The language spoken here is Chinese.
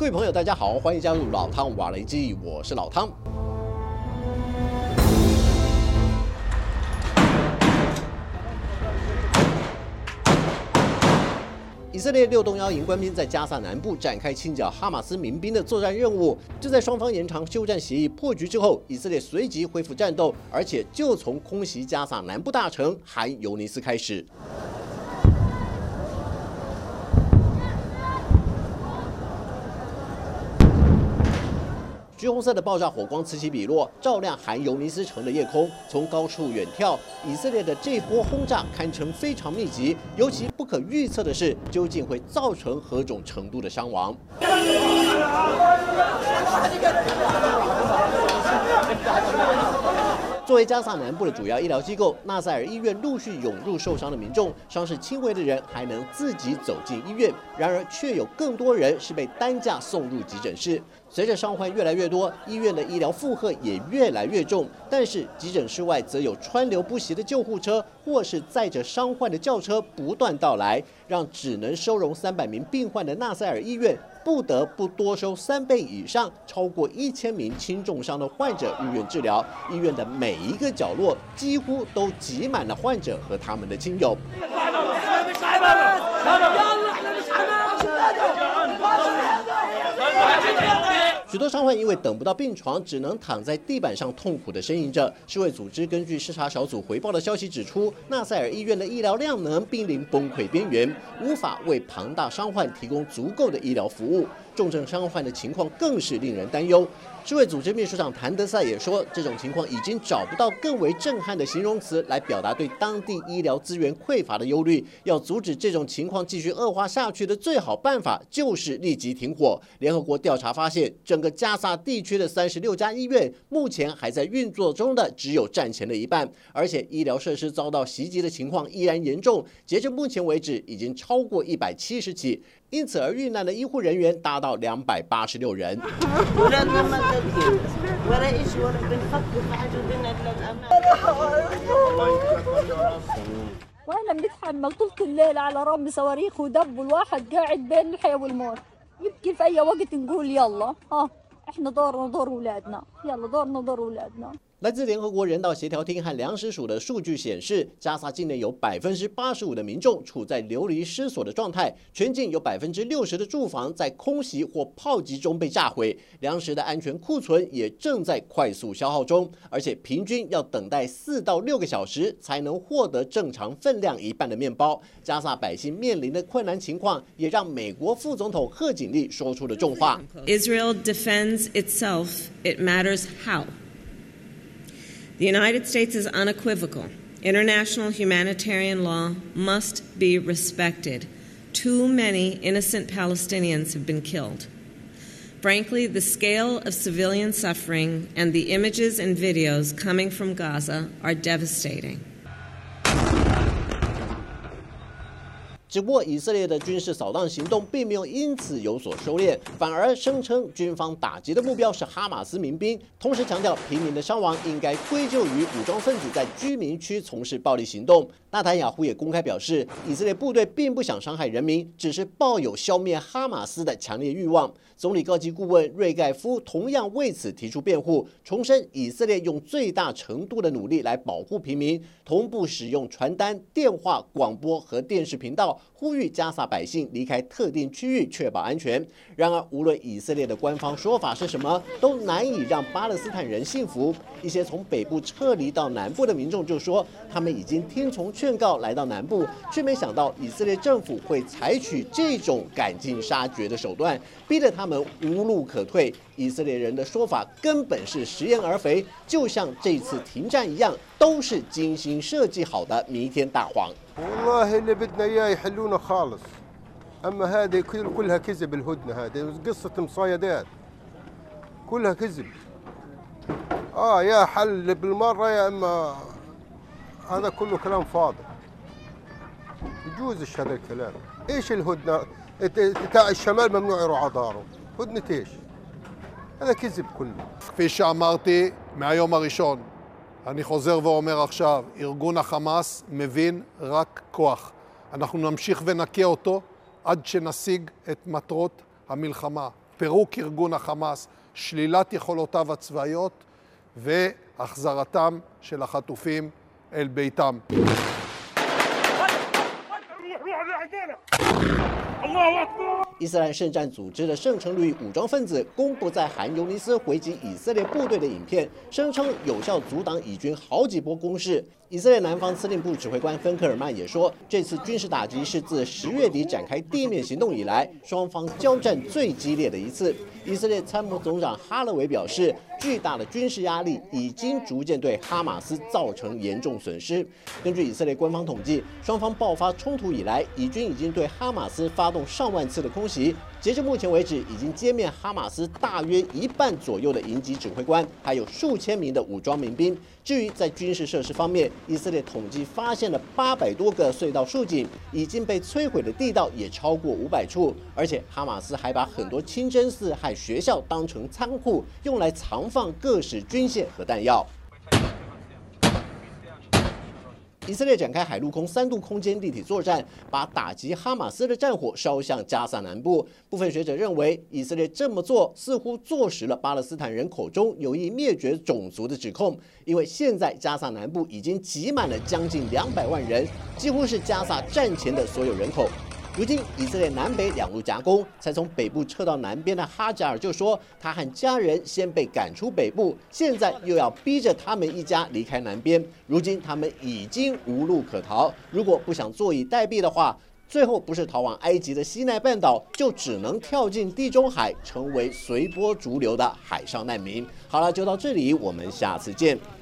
位朋友，大家好，欢迎加入老汤瓦雷基，我是老汤。以色列6东1营官兵在加萨南部展开清剿哈马斯民兵的作战任务。就在双方延长休战协议破局之后，以色列随即恢复战斗，而且就从空袭加萨南部大城汗尤尼斯开始。橘红色的爆炸火光此起彼落，照亮汗尤尼斯城的夜空。从高处远眺，以色列的这波轰炸堪称非常密集，尤其不可预测的是，究竟会造成何种程度的伤亡。作为加萨南部的主要医疗机构，纳赛尔医院陆续涌入受伤的民众，伤势轻微的人还能自己走进医院，然而却有更多人是被担架送入急诊室。随着伤患越来越多，医院的医疗负荷也越来越重，但是急诊室外则有川流不息的救护车或是载着伤患的轿车不断到来，让只能收容300名病患的纳赛尔医院不得不多收3倍以上，超过1000名轻重伤的患者入院治疗。医院的每一个角落几乎都挤满了患者和他们的亲友。许多伤患因为等不到病床，只能躺在地板上痛苦地呻吟着。世卫组织根据视察小组回报的消息指出，纳赛尔医院的医疗量能濒临崩溃边缘，无法为庞大伤患提供足够的医疗服务。重症伤患的情况更是令人担忧。世卫组织秘书长谭德赛也说，这种情况已经找不到更为震撼的形容词来表达对当地医疗资源匮乏的忧虑。要阻止这种情况继续恶化下去的最好办法就是立即停火。联合国调查发现，整个加萨地区的36家医院目前还在运作中的只有战前的一半，而且医疗设施遭到袭击的情况依然严重，截至目前为止已经超过170起。因此而遇难的医护人员达到286人。 واحنا بنتحمل طول الليل على رمل صواريخ ودب والواحد قاعد بين الحياة والموت يمكن في أي وقت نقول يلا احنا دورنا دور ولادنا يلا دورنا دور ولادنا。 来自联合国人道协调厅和粮食署的数据显示，加萨境内有85%的民众处在流离失所的状态，全境有60%的住房在空袭或炮击中被炸毁，粮食的安全库存也正在快速消耗中，而且平均要等待4到6个小时才能获得正常分量一半的面包。加萨百姓面临的困难情况，也让美国副总统贺锦丽说出了重话 ：Israel defends itself. It matters how. The United States is unequivocal. International humanitarian law must be respected. Too many innocent Palestinians have been killed. Frankly, the scale of civilian suffering and the images and videos coming from Gaza are devastating. 只不过，以色列的军事扫荡行动并没有因此有所收敛，反而声称军方打击的目标是哈马斯民兵，同时强调平民的伤亡应该归咎于武装分子在居民区从事暴力行动。纳坦雅胡也公开表示，以色列部队并不想伤害人民，只是抱有消灭哈马斯的强烈欲望。总理高级顾问瑞盖夫同样为此提出辩护，重申以色列用最大程度的努力来保护平民，同步使用传单、电话、广播和电视频道，呼吁加萨百姓离开特定区域，确保安全。然而，无论以色列的官方说法是什么，都难以让巴勒斯坦人信服。一些从北部撤离到南部的民众就说，他们已经听从劝告来到南部，却没想到以色列政府会采取这种赶尽杀绝的手段，逼得他们无路可退。以色列人的说法根本是食言而肥，就像这次停战一样，都是精心设计好的弥天大谎。 والله اللي بدنا اياه يحلونا خالص اما هذه كلها كذب الهدنه هذه قصه مصايدات كلها كذب يا حل بالمره يا اما هذا كله كلام فاضي يجوزش هذا الكلام ايش الهدنه تاع الشمال ممنوع يروح على داره هدنه ايش هذا كذب كله כפי שאמרתי מהיום הראשון אני חוזר ואומר עכשיו, ארגון החמאס מבין רק כוח. אנחנו נמשיך ונקה אותו עד שנשיג את מטרות המלחמה. פירוק ארגון החמאס, שלילת יכולותיו הצבאיות והחזרתם של החטופים אל ביתם. 伊斯兰圣战组织的圣城旅武装分子公布在汗尤尼斯回击以色列部队的影片，声称有效阻挡以军好几波攻势。以色列南方司令部指挥官芬克尔曼也说，这次军事打击是自10月底展开地面行动以来，双方交战最激烈的一次。以色列参谋总长哈勒维表示，巨大的军事压力已经逐渐对哈马斯造成严重损失。根据以色列官方统计，双方爆发冲突以来，以军已经对哈马斯发动上万次的空袭。截至目前为止，已经歼灭哈马斯大约1半左右的营级指挥官，还有数千名的武装民兵。至于在军事设施方面，以色列统计发现了800多个隧道竖井，已经被摧毁的地道也超过500处，而且哈马斯还把很多清真寺和学校当成仓库，用来藏放各式军械和弹药。以色列展开海陆空3度空间立体作战，把打击哈马斯的战火烧向加萨南部。部分学者认为，以色列这么做似乎坐实了巴勒斯坦人口中有意灭绝种族的指控，因为现在加萨南部已经挤满了将近200万人，几乎是加萨战前的所有人口。如今，以色列南北2路夹攻，才从北部撤到南边的哈贾尔就说，他和家人先被赶出北部，现在又要逼着他们一家离开南边。如今他们已经无路可逃，如果不想坐以待毙的话，最后不是逃往埃及的西奈半岛，就只能跳进地中海，成为随波逐流的海上难民。好了，就到这里，我们下次见。